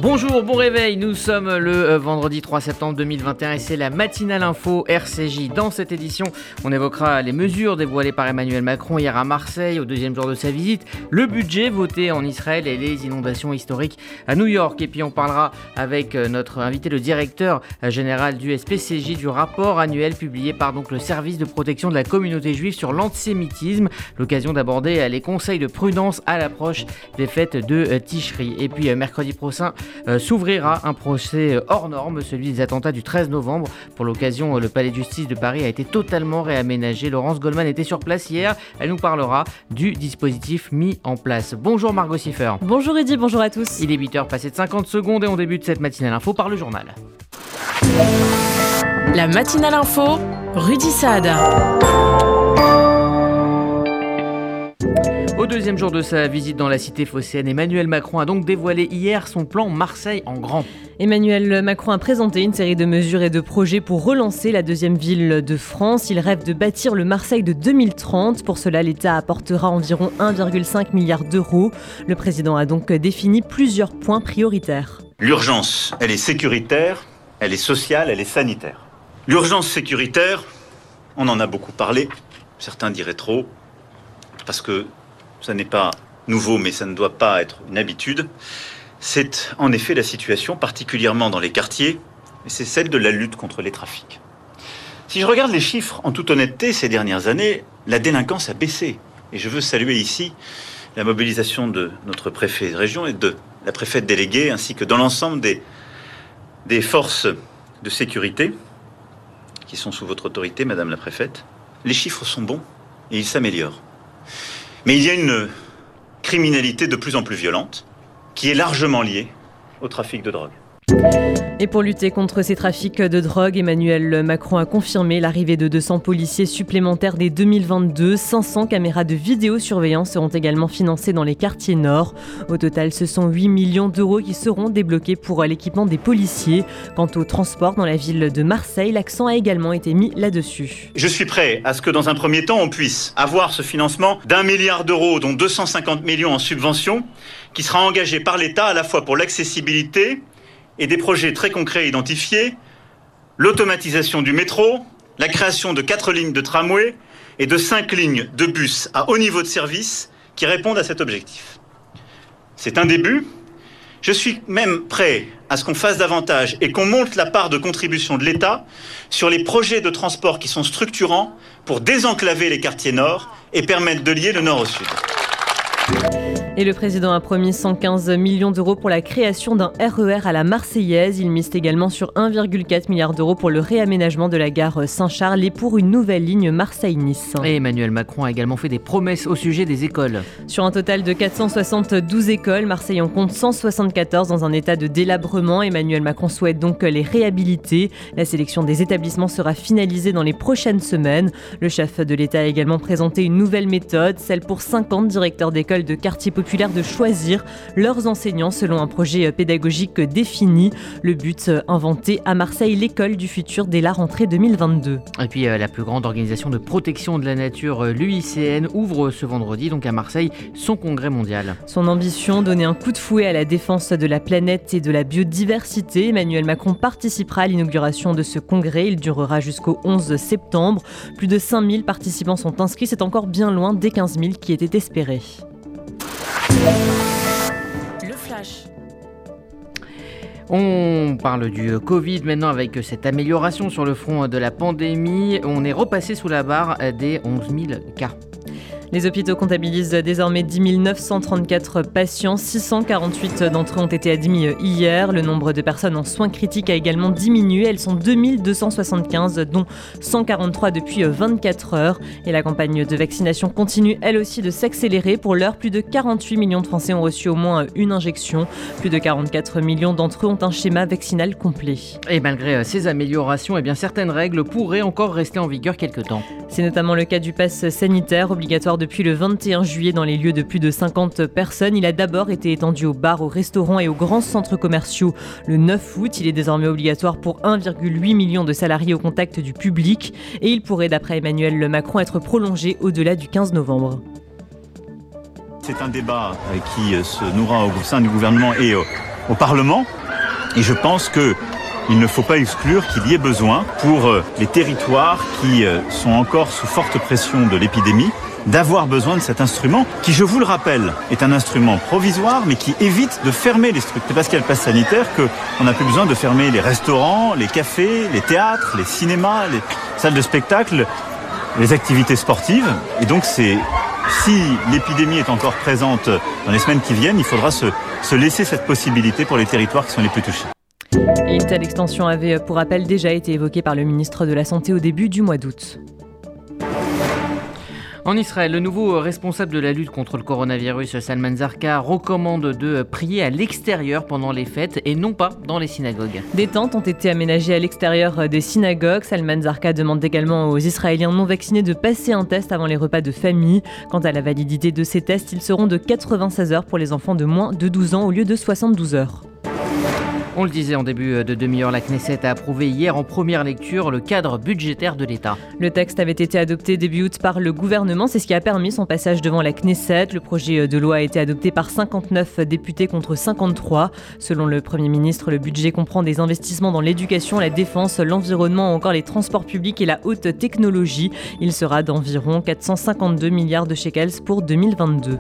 Bonjour, bon réveil, nous sommes le vendredi 3 septembre 2021 et c'est la matinale info RCJ. Dans cette édition, on évoquera les mesures dévoilées par Emmanuel Macron hier à Marseille au deuxième jour de sa visite, le budget voté en Israël et les inondations historiques à New York. Et puis on parlera avec notre invité, le directeur général du SPCJ, du rapport annuel publié par le service de protection de la communauté juive sur l'antisémitisme. L'occasion d'aborder les conseils de prudence à l'approche des fêtes de Tishri. Et puis mercredi prochain, s'ouvrira un procès hors norme, celui des attentats du 13 novembre. Pour l'occasion, le palais de justice de Paris a été totalement réaménagé. Laurence Goldman était sur place hier. Elle nous parlera du dispositif mis en place. Bonjour Margot Siffer. Bonjour Eddy, bonjour à tous. Il est 8h passé de 50 secondes et on débute cette matinale info par le journal. La matinale info, Rudy Saad. Au deuxième jour de sa visite dans la cité phocéenne, Emmanuel Macron a donc dévoilé hier son plan Marseille en grand. Emmanuel Macron a présenté une série de mesures et de projets pour relancer la deuxième ville de France. Il rêve de bâtir le Marseille de 2030. Pour cela, l'État apportera environ 1,5 milliard d'euros. Le président a donc défini plusieurs points prioritaires. L'urgence, elle est sécuritaire, elle est sociale, elle est sanitaire. L'urgence sécuritaire, on en a beaucoup parlé. Certains diraient trop, parce que ça n'est pas nouveau, mais ça ne doit pas être une habitude. C'est en effet la situation, particulièrement dans les quartiers, et c'est celle de la lutte contre les trafics. Si je regarde les chiffres, en toute honnêteté, ces dernières années, la délinquance a baissé. Et je veux saluer ici la mobilisation de notre préfet de région et de la préfète déléguée, ainsi que dans l'ensemble des forces de sécurité qui sont sous votre autorité, Madame la préfète. Les chiffres sont bons et ils s'améliorent. Mais il y a une criminalité de plus en plus violente qui est largement liée au trafic de drogue. Et pour lutter contre ces trafics de drogue, Emmanuel Macron a confirmé l'arrivée de 200 policiers supplémentaires dès 2022. 500 caméras de vidéosurveillance seront également financées dans les quartiers nord. Au total, ce sont 8 millions d'euros qui seront débloqués pour l'équipement des policiers. Quant au transport dans la ville de Marseille, l'accent a également été mis là-dessus. Je suis prêt à ce que dans un premier temps, on puisse avoir ce financement d'1 milliard d'euros, dont 250 millions en subventions, qui sera engagé par l'État à la fois pour l'accessibilité et des projets très concrets identifiés, l'automatisation du métro, la création de 4 lignes de tramway et de 5 lignes de bus à haut niveau de service qui répondent à cet objectif. C'est un début. Je suis même prêt à ce qu'on fasse davantage et qu'on monte la part de contribution de l'État sur les projets de transport qui sont structurants pour désenclaver les quartiers nord et permettre de lier le nord au sud. Et le président a promis 115 millions d'euros pour la création d'un RER à la Marseillaise. Il mise également sur 1,4 milliard d'euros pour le réaménagement de la gare Saint-Charles et pour une nouvelle ligne Marseille-Nice. Et Emmanuel Macron a également fait des promesses au sujet des écoles. Sur un total de 472 écoles, Marseille en compte 174 dans un état de délabrement. Emmanuel Macron souhaite donc les réhabiliter. La sélection des établissements sera finalisée dans les prochaines semaines. Le chef de l'État a également présenté une nouvelle méthode, celle pour 50 directeurs d'écoles de quartiers populaires de choisir leurs enseignants selon un projet pédagogique défini. Le but, inventer à Marseille l'école du futur dès la rentrée 2022. Et puis la plus grande organisation de protection de la nature, l'UICN, ouvre ce vendredi donc à Marseille son congrès mondial. Son ambition, donner un coup de fouet à la défense de la planète et de la biodiversité. Emmanuel Macron participera à l'inauguration de ce congrès. Il durera jusqu'au 11 septembre. Plus de 5000 participants sont inscrits. C'est encore bien loin des 15 000 qui étaient espérés. Le flash. On parle du Covid maintenant avec cette amélioration sur le front de la pandémie. On est repassé sous la barre des 11 000 cas. Les hôpitaux comptabilisent désormais 10 934 patients. 648 d'entre eux ont été admis hier. Le nombre de personnes en soins critiques a également diminué. Elles sont 2275, dont 143 depuis 24 heures. Et la campagne de vaccination continue elle aussi de s'accélérer. Pour l'heure, plus de 48 millions de Français ont reçu au moins une injection. Plus de 44 millions d'entre eux ont un schéma vaccinal complet. Et malgré ces améliorations, certaines règles pourraient encore rester en vigueur quelque temps. C'est notamment le cas du pass sanitaire, obligatoire depuis le 21 juillet dans les lieux de plus de 50 personnes. Il a d'abord été étendu aux bars, aux restaurants et aux grands centres commerciaux le 9 août. Il est désormais obligatoire pour 1,8 million de salariés au contact du public. Et il pourrait, d'après Emmanuel Macron, être prolongé au-delà du 15 novembre. C'est un débat qui se nourra au sein du gouvernement et au Parlement. Et je pense qu'il ne faut pas exclure qu'il y ait besoin, pour les territoires qui sont encore sous forte pression de l'épidémie, d'avoir besoin de cet instrument qui, je vous le rappelle, est un instrument provisoire mais qui évite de fermer les structures. C'est parce qu'il y a le pass sanitaire qu'on n'a plus besoin de fermer les restaurants, les cafés, les théâtres, les cinémas, les salles de spectacle, les activités sportives. Et donc si l'épidémie est encore présente dans les semaines qui viennent, il faudra se laisser cette possibilité pour les territoires qui sont les plus touchés. Et une telle extension avait, pour rappel, déjà été évoquée par le ministre de la Santé au début du mois d'août. En Israël, le nouveau responsable de la lutte contre le coronavirus, Salman Zarqa, recommande de prier à l'extérieur pendant les fêtes et non pas dans les synagogues. Des tentes ont été aménagées à l'extérieur des synagogues. Salman Zarqa demande également aux Israéliens non vaccinés de passer un test avant les repas de famille. Quant à la validité de ces tests, ils seront de 96 heures pour les enfants de moins de 12 ans au lieu de 72 heures. On le disait en début de demi-heure, la Knesset a approuvé hier en première lecture le cadre budgétaire de l'État. Le texte avait été adopté début août par le gouvernement, c'est ce qui a permis son passage devant la Knesset. Le projet de loi a été adopté par 59 députés contre 53. Selon le Premier ministre, le budget comprend des investissements dans l'éducation, la défense, l'environnement ou encore les transports publics et la haute technologie. Il sera d'environ 452 milliards de shekels pour 2022.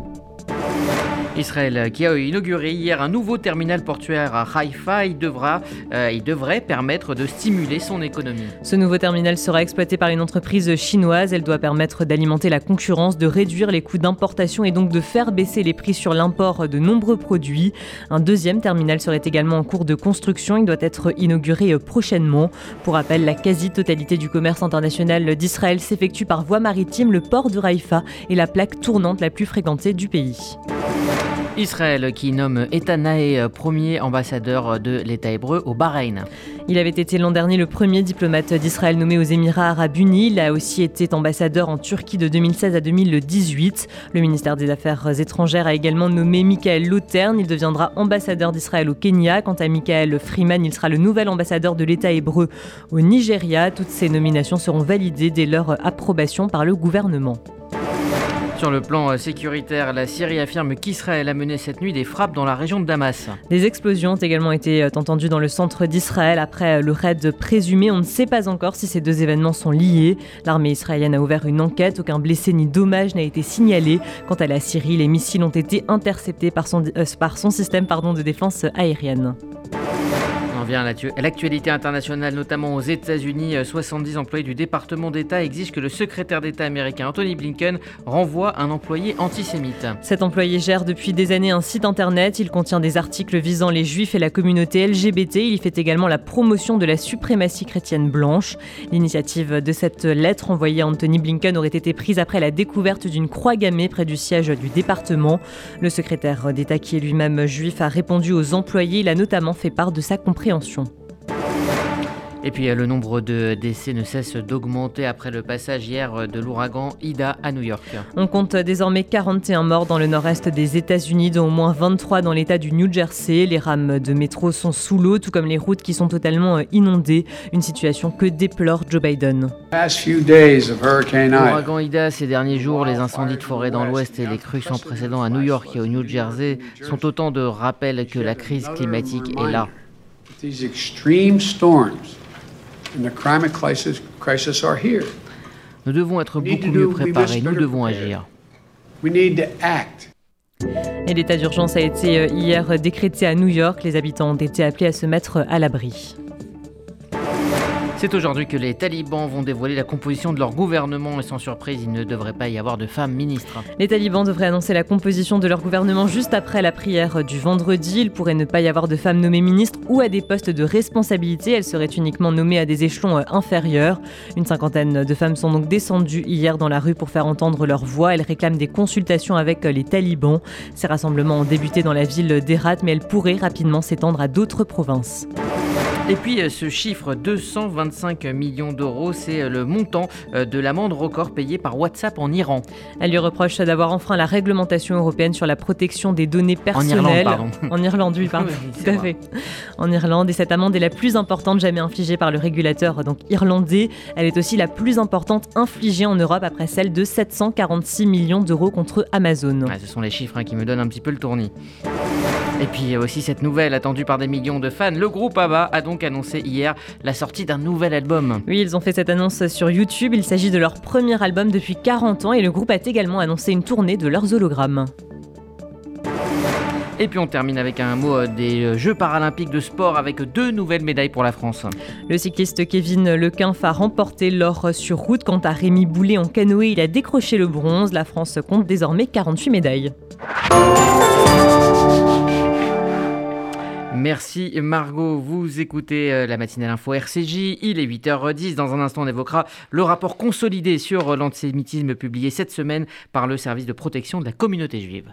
Israël qui a inauguré hier un nouveau terminal portuaire à Haïfa, il devrait permettre de stimuler son économie. Ce nouveau terminal sera exploité par une entreprise chinoise. Elle doit permettre d'alimenter la concurrence, de réduire les coûts d'importation et donc de faire baisser les prix sur l'import de nombreux produits. Un deuxième terminal serait également en cours de construction. Il doit être inauguré prochainement. Pour rappel, la quasi-totalité du commerce international d'Israël s'effectue par voie maritime. Le port de Haïfa est la plaque tournante la plus fréquentée du pays. Israël qui nomme Eitan Naé premier ambassadeur de l'État hébreu au Bahreïn. Il avait été l'an dernier le premier diplomate d'Israël nommé aux Émirats arabes unis. Il a aussi été ambassadeur en Turquie de 2016 à 2018. Le ministère des Affaires étrangères a également nommé Michael Lautern. Il deviendra ambassadeur d'Israël au Kenya. Quant à Michael Freeman, il sera le nouvel ambassadeur de l'État hébreu au Nigeria. Toutes ces nominations seront validées dès leur approbation par le gouvernement. Sur le plan sécuritaire, la Syrie affirme qu'Israël a mené cette nuit des frappes dans la région de Damas. Des explosions ont également été entendues dans le centre d'Israël après le raid présumé. On ne sait pas encore si ces deux événements sont liés. L'armée israélienne a ouvert une enquête. Aucun blessé ni dommage n'a été signalé. Quant à la Syrie, les missiles ont été interceptés par son système de défense aérienne. On vient à l'actualité internationale, notamment aux États-Unis. 70 employés du département d'État exigent que le secrétaire d'État américain Anthony Blinken renvoie un employé antisémite. Cet employé gère depuis des années un site internet. Il contient des articles visant les juifs et la communauté LGBT. Il y fait également la promotion de la suprématie chrétienne blanche. L'initiative de cette lettre envoyée à Anthony Blinken aurait été prise après la découverte d'une croix gammée près du siège du département. Le secrétaire d'État, qui est lui-même juif, a répondu aux employés. Il a notamment fait part de sa compréhension. Et puis le nombre de décès ne cesse d'augmenter après le passage hier de l'ouragan Ida à New York. On compte désormais 41 morts dans le nord-est des États-Unis, dont au moins 23 dans l'État du New Jersey. Les rames de métro sont sous l'eau, tout comme les routes qui sont totalement inondées. Une situation que déplore Joe Biden. L'ouragan Ida, ces derniers jours, les incendies de forêt dans l'ouest et les crues sans précédent à New York et au New Jersey sont autant de rappels que la crise climatique est là. These extreme storms and the climate crisis are here. Nous devons être beaucoup mieux préparés, nous devons agir. We need to act. Et l'état d'urgence a été hier décrété à New York. Les habitants ont été appelés à se mettre à l'abri. C'est aujourd'hui que les talibans vont dévoiler la composition de leur gouvernement et sans surprise, il ne devrait pas y avoir de femmes ministres. Les talibans devraient annoncer la composition de leur gouvernement juste après la prière du vendredi. Il pourrait ne pas y avoir de femmes nommées ministres ou à des postes de responsabilité. Elles seraient uniquement nommées à des échelons inférieurs. Une cinquantaine de femmes sont donc descendues hier dans la rue pour faire entendre leur voix. Elles réclament des consultations avec les talibans. Ces rassemblements ont débuté dans la ville d'Herat, mais elles pourraient rapidement s'étendre à d'autres provinces. Et puis ce chiffre, 225 millions d'euros, c'est le montant de l'amende record payée par WhatsApp en Iran. Elle lui reproche d'avoir enfreint la réglementation européenne sur la protection des données personnelles. En Irlande, pardon. En Irlande, oui, pardon. Oui, tout à fait. En Irlande, et cette amende est la plus importante jamais infligée par le régulateur irlandais. Elle est aussi la plus importante infligée en Europe après celle de 746 millions d'euros contre Amazon. Ce sont les chiffres qui me donnent un petit peu le tournis. Et puis aussi cette nouvelle attendue par des millions de fans, le groupe ABBA a donc annoncé hier la sortie d'un nouvel album. Oui, ils ont fait cette annonce sur YouTube. Il s'agit de leur premier album depuis 40 ans et le groupe a également annoncé une tournée de leurs hologrammes. Et puis on termine avec un mot des Jeux paralympiques de sport avec 2 nouvelles médailles pour la France. Le cycliste Kevin Lequinf a remporté l'or sur route. Quant à Rémi Boulet en canoë, il a décroché le bronze. La France compte désormais 48 médailles. Merci Margot, vous écoutez la matinale info RCJ, il est 8h10, dans un instant on évoquera le rapport consolidé sur l'antisémitisme publié cette semaine par le service de protection de la communauté juive.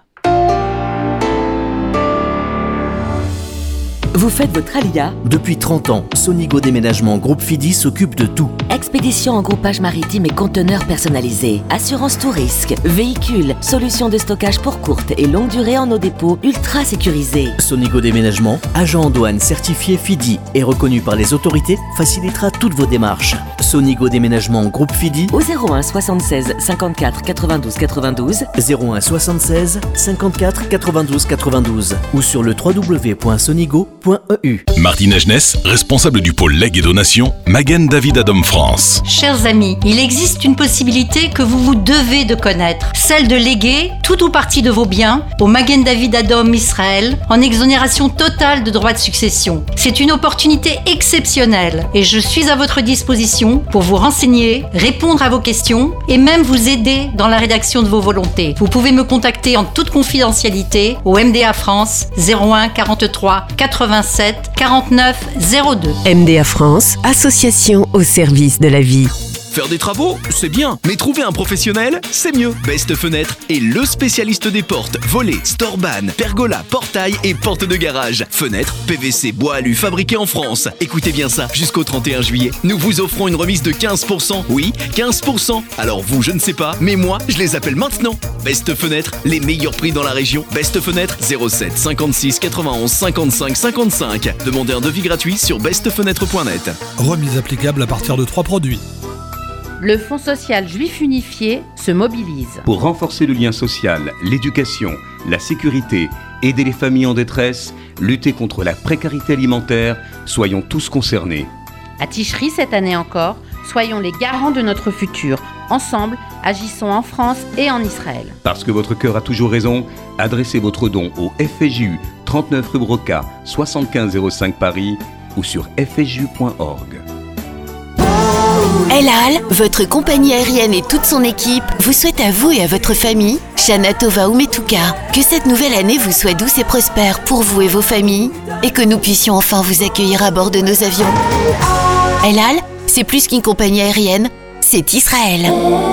Vous faites votre alia ? Depuis 30 ans, Sonigo Déménagement Groupe Fidi s'occupe de tout. Expédition en groupage maritime et conteneurs personnalisés. Assurance tout risque. Véhicules. Solutions de stockage pour courte et longue durée en nos dépôts ultra sécurisés. Sonigo Déménagement, agent en douane certifié Fidi et reconnu par les autorités, facilitera toutes vos démarches. Sonigo Déménagement Groupe Fidi au 01 76 54 92 92 01 76 54 92 92 ou sur le www.sonigo.eu. Martine Agenès, responsable du pôle legs et donations, Magen David Adom France. Chers amis, il existe une possibilité que vous devez de connaître, celle de léguer tout ou partie de vos biens au Magen David Adom Israël en exonération totale de droits de succession. C'est une opportunité exceptionnelle et je suis à votre disposition pour vous renseigner, répondre à vos questions et même vous aider dans la rédaction de vos volontés. Vous pouvez me contacter en toute confidentialité au MDA France 01 43 87 49 02. MDA France, association au service de la vie. Faire des travaux, c'est bien, mais trouver un professionnel, c'est mieux. Best Fenêtre est le spécialiste des portes, volets, storban, pergola, portail et portes de garage. Fenêtres, PVC, bois alu fabriqués en France. Écoutez bien ça, jusqu'au 31 juillet, nous vous offrons une remise de 15%. Oui, 15%. Alors vous, je ne sais pas, mais moi, je les appelle maintenant. Best Fenêtre, les meilleurs prix dans la région. Best Fenêtre, 07 56 91 55 55. Demandez un devis gratuit sur bestfenêtre.net. Remise applicable à partir de 3 produits. Le Fonds social juif unifié se mobilise. Pour renforcer le lien social, l'éducation, la sécurité, aider les familles en détresse, lutter contre la précarité alimentaire, soyons tous concernés. À Ticherie cette année encore, soyons les garants de notre futur. Ensemble, agissons en France et en Israël. Parce que votre cœur a toujours raison, adressez votre don au FSJU 39 rue Broca, 7505 Paris ou sur fsju.org. El Al, votre compagnie aérienne et toute son équipe vous souhaite à vous et à votre famille, Shana Tova Umetuka, que cette nouvelle année vous soit douce et prospère pour vous et vos familles et que nous puissions enfin vous accueillir à bord de nos avions. El Al, c'est plus qu'une compagnie aérienne, c'est Israël.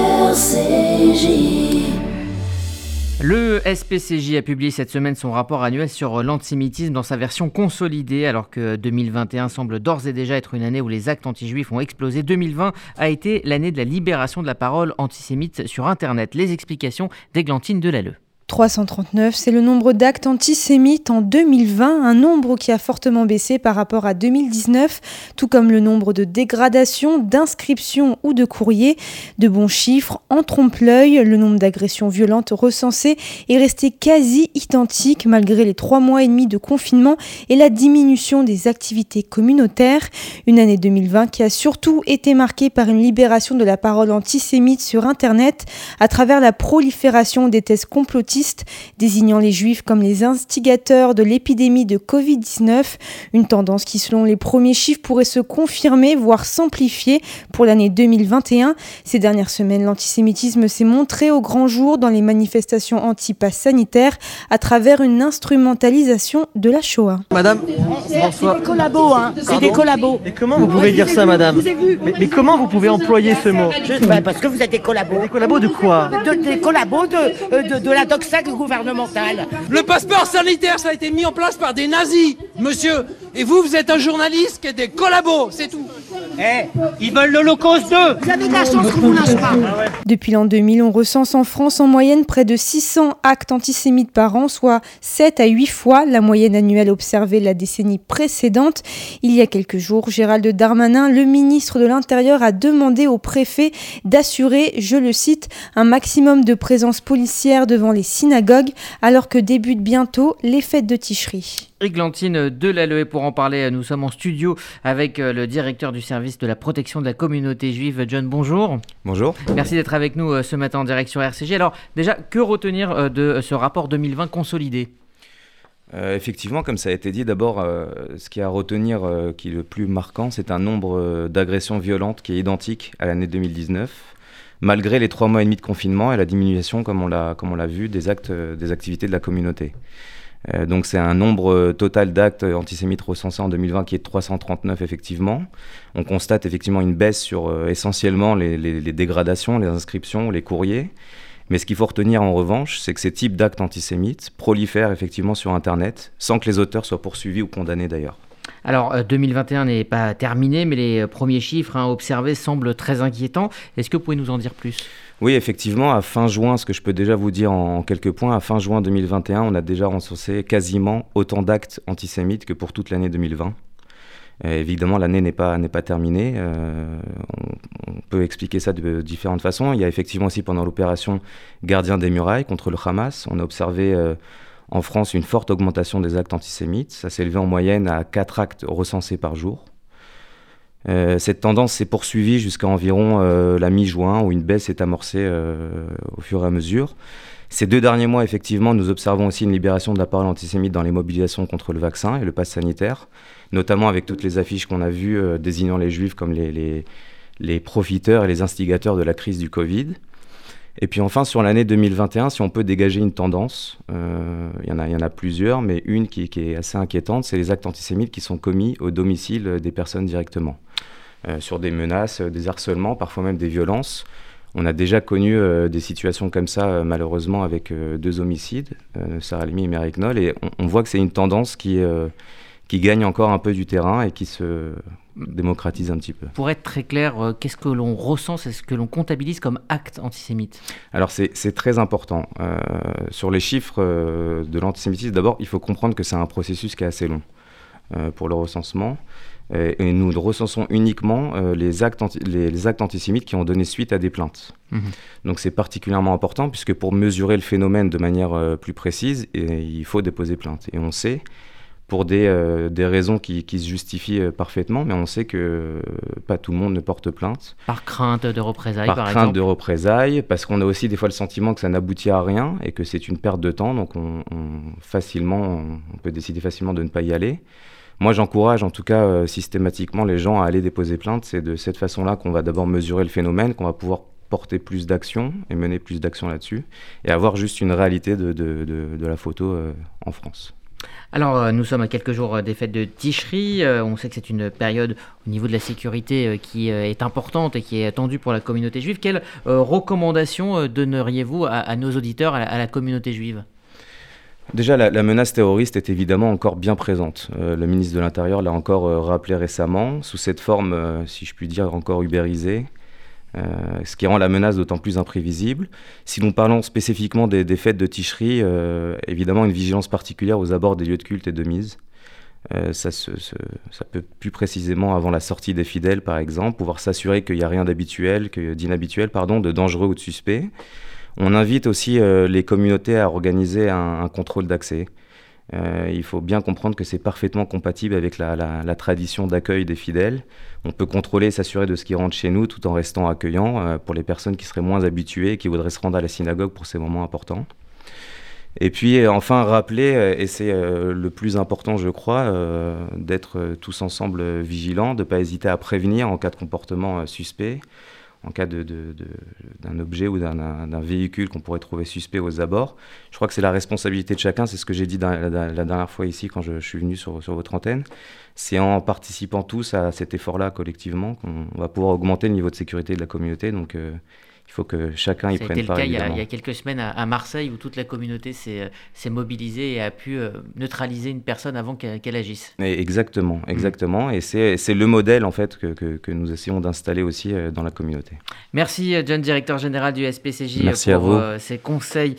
Le SPCJ a publié cette semaine son rapport annuel sur l'antisémitisme dans sa version consolidée, alors que 2021 semble d'ores et déjà être une année où les actes anti-juifs ont explosé. 2020 a été l'année de la libération de la parole antisémite sur Internet. Les explications d'Églantine Delalleux. 339, c'est le nombre d'actes antisémites en 2020, un nombre qui a fortement baissé par rapport à 2019, tout comme le nombre de dégradations, d'inscriptions ou de courriers. De bons chiffres, en trompe-l'œil, le nombre d'agressions violentes recensées est resté quasi identique malgré les 3 mois et demi de confinement et la diminution des activités communautaires. Une année 2020 qui a surtout été marquée par une libération de la parole antisémite sur Internet à travers la prolifération des thèses complotistes désignant les Juifs comme les instigateurs de l'épidémie de Covid-19, une tendance qui, selon les premiers chiffres, pourrait se confirmer, voire s'amplifier pour l'année 2021. Ces dernières semaines, l'antisémitisme s'est montré au grand jour dans les manifestations anti-pass sanitaires à travers une instrumentalisation de la Shoah. Madame, c'est des collabos, hein. C'est des collabos. Et comment vous pouvez dire ça, madame ? Mais comment vous pouvez employer ce mot ? Parce que vous êtes des collabos. Des collabos de quoi ? Des collabos de la doxa gouvernementale. Le passeport sanitaire, ça a été mis en place par des nazis, monsieur. Et vous êtes un journaliste qui est des collabos, c'est tout. Ils veulent l'Holocauste 2. Vous avez de la chance qu'on vous lâche pas. Depuis l'an 2000, on recense en France en moyenne près de 600 actes antisémites par an, soit 7 à 8 fois la moyenne annuelle observée la décennie précédente. Il y a quelques jours, Gérald Darmanin, le ministre de l'Intérieur, a demandé au préfet d'assurer, je le cite, un maximum de présence policière devant les synagogues, alors que débutent bientôt les fêtes de Ticherie. Églantine Delalleux, pour en parler, nous sommes en studio avec le directeur du service de la protection de la communauté juive, John, bonjour. Bonjour. Merci d'être avec nous ce matin en direct sur RCG. Alors déjà, que retenir de ce rapport 2020 consolidé ? Effectivement, comme ça a été dit, d'abord, ce qu'il y a à retenir qui est le plus marquant, c'est un nombre d'agressions violentes qui est identique à l'année 2019, malgré les 3 mois et demi de confinement et la diminution, comme on l'a vu, des activités de la communauté. Donc c'est un nombre total d'actes antisémites recensés en 2020 qui est de 339 effectivement. On constate effectivement une baisse sur essentiellement les dégradations, les inscriptions, les courriers. Mais ce qu'il faut retenir en revanche, c'est que ces types d'actes antisémites prolifèrent effectivement sur Internet, sans que les auteurs soient poursuivis ou condamnés d'ailleurs. Alors 2021 n'est pas terminé, mais les premiers chiffres observés semblent très inquiétants. Est-ce que vous pouvez nous en dire plus ? Oui, effectivement, à fin juin, ce que je peux déjà vous dire en quelques points, à fin juin 2021, on a déjà recensé quasiment autant d'actes antisémites que pour toute l'année 2020. Évidemment, l'année n'est pas terminée. On peut expliquer ça de différentes façons. Il y a effectivement aussi pendant l'opération Gardien des Murailles contre le Hamas, on a observé en France une forte augmentation des actes antisémites. Ça s'est élevé en moyenne à 4 actes recensés par jour. Cette tendance s'est poursuivie jusqu'à environ la mi-juin, où une baisse est amorcée au fur et à mesure. Ces 2 derniers mois, effectivement, nous observons aussi une libération de la parole antisémite dans les mobilisations contre le vaccin et le pass sanitaire, notamment avec toutes les affiches qu'on a vues désignant les juifs comme les profiteurs et les instigateurs de la crise du Covid. Et puis enfin, sur l'année 2021, si on peut dégager une tendance, il y en a plusieurs, mais une qui est assez inquiétante, c'est les actes antisémites qui sont commis au domicile des personnes directement, sur des menaces, des harcèlements, parfois même des violences. On a déjà connu des situations comme ça, malheureusement, avec 2 homicides, Sarah Halimi et Mérik Noll, et on voit que c'est une tendance qui gagne encore un peu du terrain et qui se démocratise un petit peu. Pour être très clair, qu'est-ce que l'on recense, est-ce que l'on comptabilise comme acte antisémite ? Alors c'est très important. Sur les chiffres de l'antisémitisme, d'abord, il faut comprendre que c'est un processus qui est assez long pour le recensement. Et nous recensons uniquement les actes antisémites qui ont donné suite à des plaintes. Donc c'est particulièrement important puisque pour mesurer le phénomène de manière plus précise, il faut déposer plainte. Et on sait, pour des raisons qui se justifient parfaitement, mais on sait que pas tout le monde ne porte plainte. Par crainte de représailles, par exemple. Par crainte de représailles, parce qu'on a aussi des fois le sentiment que ça n'aboutit à rien et que c'est une perte de temps, donc on peut décider facilement de ne pas y aller. Moi, j'encourage en tout cas systématiquement les gens à aller déposer plainte. C'est de cette façon-là qu'on va d'abord mesurer le phénomène, qu'on va pouvoir porter plus d'actions et mener plus d'actions là-dessus, et avoir juste une réalité de la photo en France. Alors, nous sommes à quelques jours des fêtes de Ticherie. On sait que c'est une période au niveau de la sécurité qui est importante et qui est attendue pour la communauté juive. Quelles recommandations donneriez-vous à nos auditeurs, à la communauté juive ? Déjà, la menace terroriste est évidemment encore bien présente. Le ministre de l'Intérieur l'a encore rappelé récemment, sous cette forme, si je puis dire, encore ubérisée, ce qui rend la menace d'autant plus imprévisible. Si nous parlons spécifiquement des fêtes de Ticherie, évidemment une vigilance particulière aux abords des lieux de culte et de mise. Ça peut plus précisément avant la sortie des fidèles, par exemple, pouvoir s'assurer qu'il n'y a rien d'inhabituel, de dangereux ou de suspect. On invite aussi les communautés à organiser un contrôle d'accès. Il faut bien comprendre que c'est parfaitement compatible avec la tradition d'accueil des fidèles. On peut contrôler et s'assurer de ce qui rentre chez nous tout en restant accueillant pour les personnes qui seraient moins habituées et qui voudraient se rendre à la synagogue pour ces moments importants. Et puis enfin rappeler, et c'est le plus important je crois, d'être tous ensemble vigilants, de ne pas hésiter à prévenir en cas de comportement suspect, en cas d'un objet ou d'un véhicule qu'on pourrait trouver suspect aux abords. Je crois que c'est la responsabilité de chacun, c'est ce que j'ai dit la dernière fois ici quand je suis venu sur votre antenne. C'est en participant tous à cet effort-là collectivement qu'on va pouvoir augmenter le niveau de sécurité de la communauté. Donc il faut que chacun y prenne part. Ça a été le cas il y a quelques semaines à Marseille, où toute la communauté s'est mobilisée et a pu neutraliser une personne avant qu'elle agisse. Exactement. Et c'est le modèle en fait que nous essayons d'installer aussi dans la communauté. Merci John, directeur général du SPCJ, pour ces conseils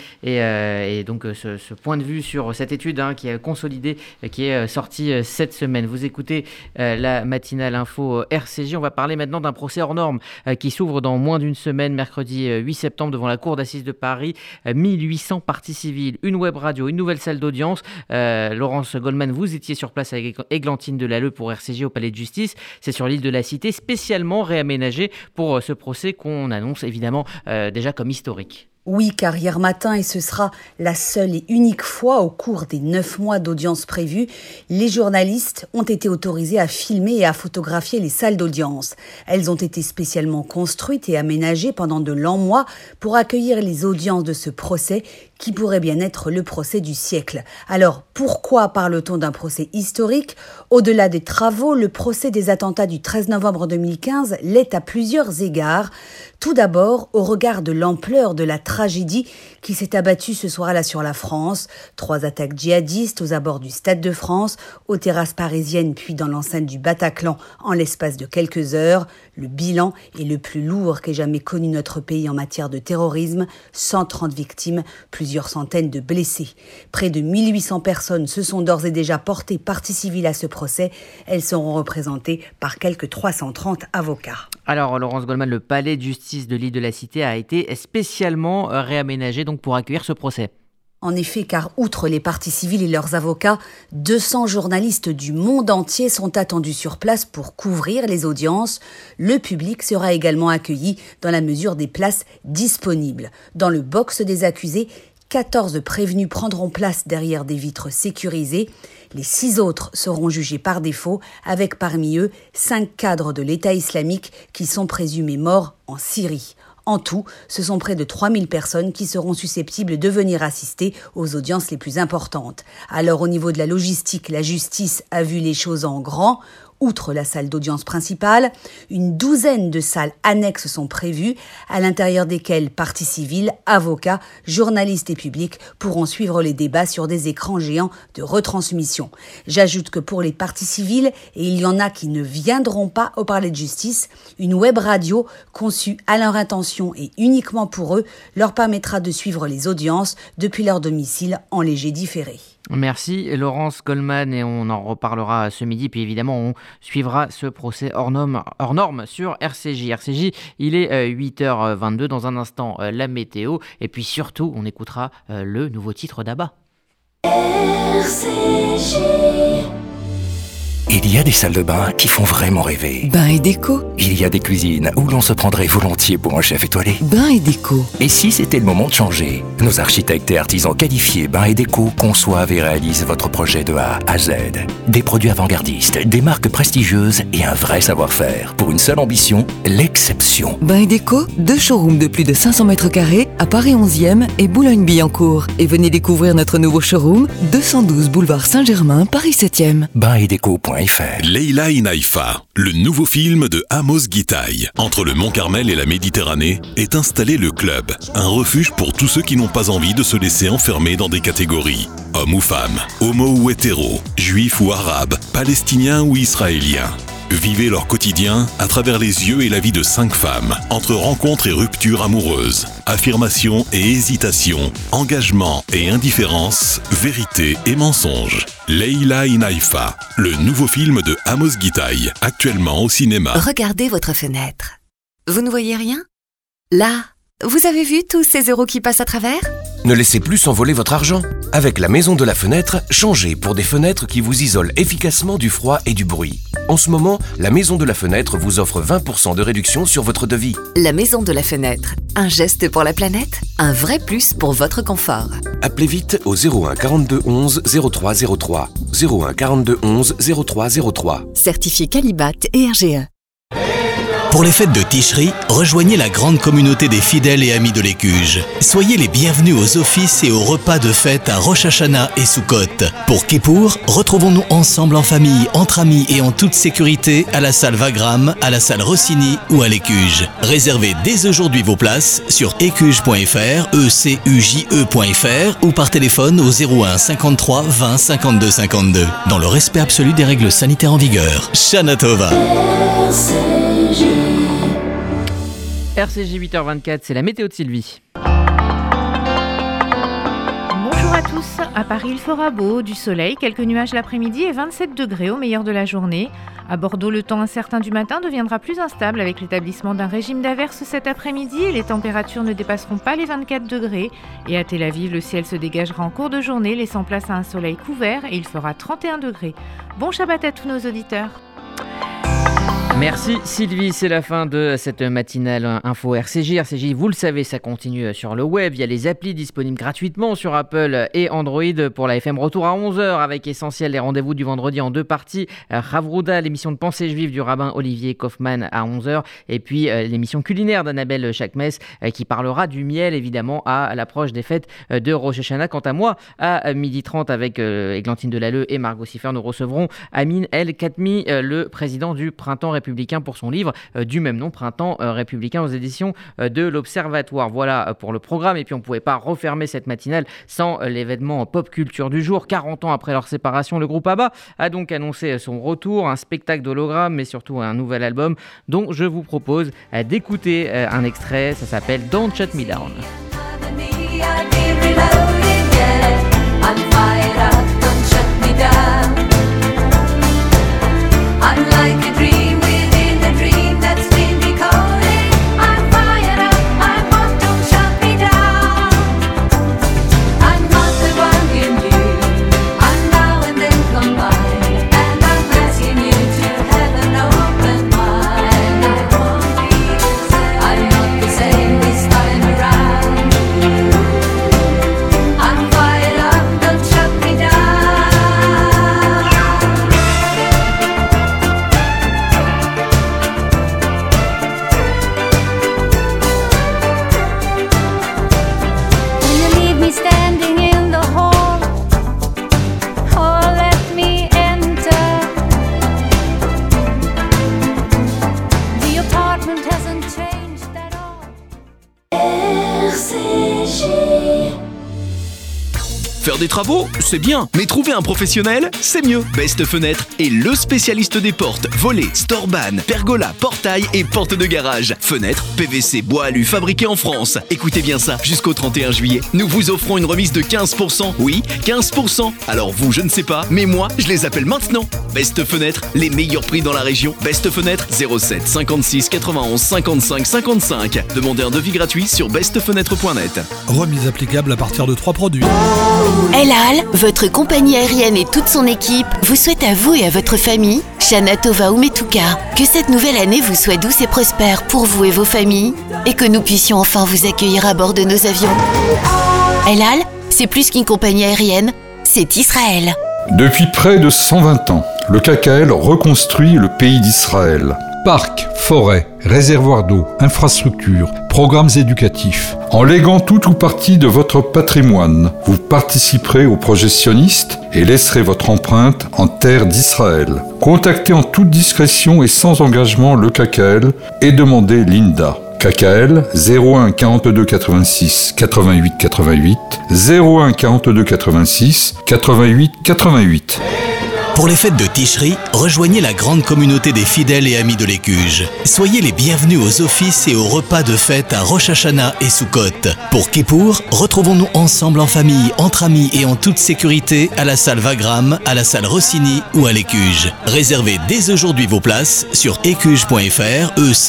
et donc ce point de vue sur cette étude qui est consolidée, qui est sortie cette semaine. Vous écoutez la matinale info RCJ. On va parler maintenant d'un procès hors norme qui s'ouvre dans moins d'une semaine, mercredi 8 septembre, devant la cour d'assises de Paris. 1800 parties civiles, une web radio, une nouvelle salle d'audience. Laurence Goldman, vous étiez sur place avec Églantine Delalleux pour RCJ au Palais de Justice. C'est sur l'île de la Cité, spécialement réaménagé pour ce procès qu'on annonce évidemment déjà comme historique. Oui, car hier matin, et ce sera la seule et unique fois au cours des 9 mois d'audience prévue, les journalistes ont été autorisés à filmer et à photographier les salles d'audience. Elles ont été spécialement construites et aménagées pendant de longs mois pour accueillir les audiences de ce procès qui pourrait bien être le procès du siècle. Alors, pourquoi parle-t-on d'un procès historique ? Au-delà des travaux, le procès des attentats du 13 novembre 2015 l'est à plusieurs égards. Tout d'abord, au regard de l'ampleur de la tragédie qui s'est abattue ce soir-là sur la France. 3 attaques djihadistes aux abords du Stade de France, aux terrasses parisiennes puis dans l'enceinte du Bataclan en l'espace de quelques heures. Le bilan est le plus lourd qu'ait jamais connu notre pays en matière de terrorisme. 130 victimes, plusieurs centaines de blessés. Près de 1800 personnes se sont d'ores et déjà portées partie civile à ce procès. Elles seront représentées par quelques 330 avocats. Alors, Laurence Goldman, le palais de justice de l'île de la Cité a été spécialement réaménagé donc pour accueillir ce procès. En effet, car outre les parties civiles et leurs avocats, 200 journalistes du monde entier sont attendus sur place pour couvrir les audiences. Le public sera également accueilli dans la mesure des places disponibles. Dans le box des accusés, 14 prévenus prendront place derrière des vitres sécurisées. Les 6 autres seront jugés par défaut, avec parmi eux 5 cadres de l'État islamique qui sont présumés morts en Syrie. En tout, ce sont près de 3000 personnes qui seront susceptibles de venir assister aux audiences les plus importantes. Alors au niveau de la logistique, la justice a vu les choses en grand. Outre la salle d'audience principale, une douzaine de salles annexes sont prévues, à l'intérieur desquelles parties civiles, avocats, journalistes et publics pourront suivre les débats sur des écrans géants de retransmission. J'ajoute que pour les parties civiles, et il y en a qui ne viendront pas au Palais de Justice, une web radio conçue à leur intention et uniquement pour eux leur permettra de suivre les audiences depuis leur domicile en léger différé. Merci Laurence Goldman, et on en reparlera ce midi, puis évidemment on suivra ce procès hors norme sur RCJ. RCJ, il est 8h22, dans un instant la météo, et puis surtout on écoutera le nouveau titre d'Abba. RCJ. Il y a des salles de bain qui font vraiment rêver. Bain et déco. Il y a des cuisines où l'on se prendrait volontiers pour un chef étoilé. Bain et déco. Et si c'était le moment de changer ? Nos architectes et artisans qualifiés Bain et déco conçoivent et réalisent votre projet de A à Z. Des produits avant-gardistes, des marques prestigieuses et un vrai savoir-faire. Pour une seule ambition, l'exception. Bain et déco, 2 showrooms de plus de 500 mètres carrés à Paris 11e et Boulogne-Billancourt. Et venez découvrir notre nouveau showroom, 212 boulevard Saint-Germain, Paris 7e. Bainetdeco.fr. Leila in Haïfa, le nouveau film de Amos Gitaï. Entre le Mont Carmel et la Méditerranée est installé le Club, un refuge pour tous ceux qui n'ont pas envie de se laisser enfermer dans des catégories. Hommes ou femmes, homo ou hétéro, juifs ou arabes, palestiniens ou israéliens. Vivez leur quotidien à travers les yeux et la vie de 5 femmes, entre rencontres et ruptures amoureuses, affirmation et hésitation, engagement et indifférence, vérité et mensonge. Leila in Haïfa, le nouveau film de Amos Gitaï, actuellement au cinéma. Regardez votre fenêtre. Vous ne voyez rien ? Là, vous avez vu tous ces euros qui passent à travers ? Ne laissez plus s'envoler votre argent. Avec la Maison de la Fenêtre, changez pour des fenêtres qui vous isolent efficacement du froid et du bruit. En ce moment, la Maison de la Fenêtre vous offre 20% de réduction sur votre devis. La Maison de la Fenêtre, un geste pour la planète, un vrai plus pour votre confort. Appelez vite au 01 42 11 03 03. 01 42 11 03 03. Certifié Qualibat et RGE. Pour les fêtes de Ticherie, rejoignez la grande communauté des fidèles et amis de l'Écuge. Soyez les bienvenus aux offices et aux repas de fête à Rosh Hashanah et Sukkot. Pour Kippour, retrouvons-nous ensemble en famille, entre amis et en toute sécurité à la salle Wagram, à la salle Rossini ou à l'Écuge. Réservez dès aujourd'hui vos places sur écuge.fr, ecuje.fr ou par téléphone au 01 53 20 52 52. Dans le respect absolu des règles sanitaires en vigueur. Shana Tova. RCJ 8h24, c'est la météo de Sylvie. Bonjour à tous, à Paris il fera beau, du soleil, quelques nuages l'après-midi et 27 degrés au meilleur de la journée. À Bordeaux, le temps incertain du matin deviendra plus instable avec l'établissement d'un régime d'averses cet après-midi et les températures ne dépasseront pas les 24 degrés. Et à Tel Aviv, le ciel se dégagera en cours de journée, laissant place à un soleil couvert et il fera 31 degrés. Bon Shabbat à tous nos auditeurs. Merci Sylvie, c'est la fin de cette matinale info RCJ. RCJ, vous le savez, ça continue sur le web. Il y a les applis disponibles gratuitement sur Apple et Android pour la FM. Retour à 11h avec Essentiel, les rendez-vous du vendredi en deux parties. Ravrouda, l'émission de pensée juive du rabbin Olivier Kaufmann à 11h. Et puis l'émission culinaire d'Annabelle Chakmes qui parlera du miel évidemment à l'approche des fêtes de Rosh Hashanah. Quant à moi, à 12h30 avec Églantine Delalleux et Margot Siffer, nous recevrons Amin El Khatmi, le président du Printemps républicain pour son livre du même nom, Printemps républicain aux éditions de l'Observatoire. Voilà pour le programme. Et puis on ne pouvait pas refermer cette matinale sans l'événement pop culture du jour. 40 ans après leur séparation, le groupe ABBA a donc annoncé son retour, un spectacle d'hologramme mais surtout un nouvel album dont je vous propose d'écouter un extrait. Ça s'appelle Don't Shut Me Down. Faire des travaux, c'est bien, mais trouver un professionnel, c'est mieux. Best Fenêtre est le spécialiste des portes, volets, storban, pergola, portail et portes de garage. Fenêtres, PVC, bois alu fabriqués en France. Écoutez bien ça, jusqu'au 31 juillet, nous vous offrons une remise de 15%. Oui, 15%. Alors vous, je ne sais pas, mais moi, je les appelle maintenant. Best Fenêtre, les meilleurs prix dans la région. Best Fenêtre, 07 56 91 55 55. Demandez un devis gratuit sur bestfenêtre.net. Remise applicable à partir de 3 produits. El Al, votre compagnie aérienne et toute son équipe vous souhaitent à vous et à votre famille, Shana Tova Umetuka, que cette nouvelle année vous soit douce et prospère pour vous et vos familles et que nous puissions enfin vous accueillir à bord de nos avions. El Al, c'est plus qu'une compagnie aérienne, c'est Israël. Depuis près de 120 ans, le KKL reconstruit le pays d'Israël. Parcs, forêts, réservoirs d'eau, infrastructures, programmes éducatifs. En léguant tout ou partie de votre patrimoine, vous participerez au projet sioniste et laisserez votre empreinte en terre d'Israël. Contactez en toute discrétion et sans engagement le KKL et demandez l'INDA. KKL 01 42 86 88 88 01 42 86 88 88. Pour les fêtes de Ticherie, rejoignez la grande communauté des fidèles et amis de l'Écuge. Soyez les bienvenus aux offices et aux repas de fête à Rosh Hashanah et Sukkot. Pour Kippour, retrouvons-nous ensemble en famille, entre amis et en toute sécurité à la salle Wagram, à la salle Rossini ou à l'Écuge. Réservez dès aujourd'hui vos places sur écuge.fr,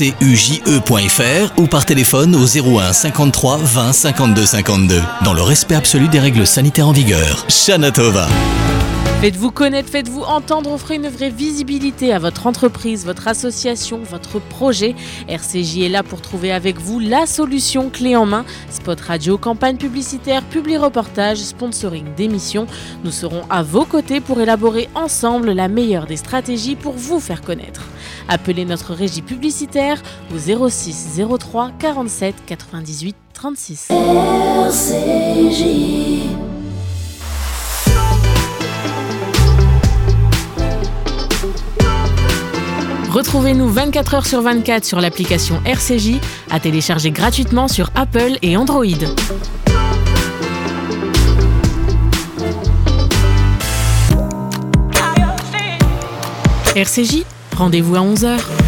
ecuje.fr ou par téléphone au 01 53 20 52 52. Dans le respect absolu des règles sanitaires en vigueur. Shana Tova. Faites-vous connaître, faites-vous entendre, offrez une vraie visibilité à votre entreprise, votre association, votre projet. RCJ est là pour trouver avec vous la solution clé en main. Spot radio, campagne publicitaire, publi-reportage, sponsoring d'émissions. Nous serons à vos côtés pour élaborer ensemble la meilleure des stratégies pour vous faire connaître. Appelez notre régie publicitaire au 06 03 47 98 36. RCJ. Retrouvez-nous 24 heures sur 24 sur l'application RCJ, à télécharger gratuitement sur Apple et Android. RCJ, rendez-vous à 11h.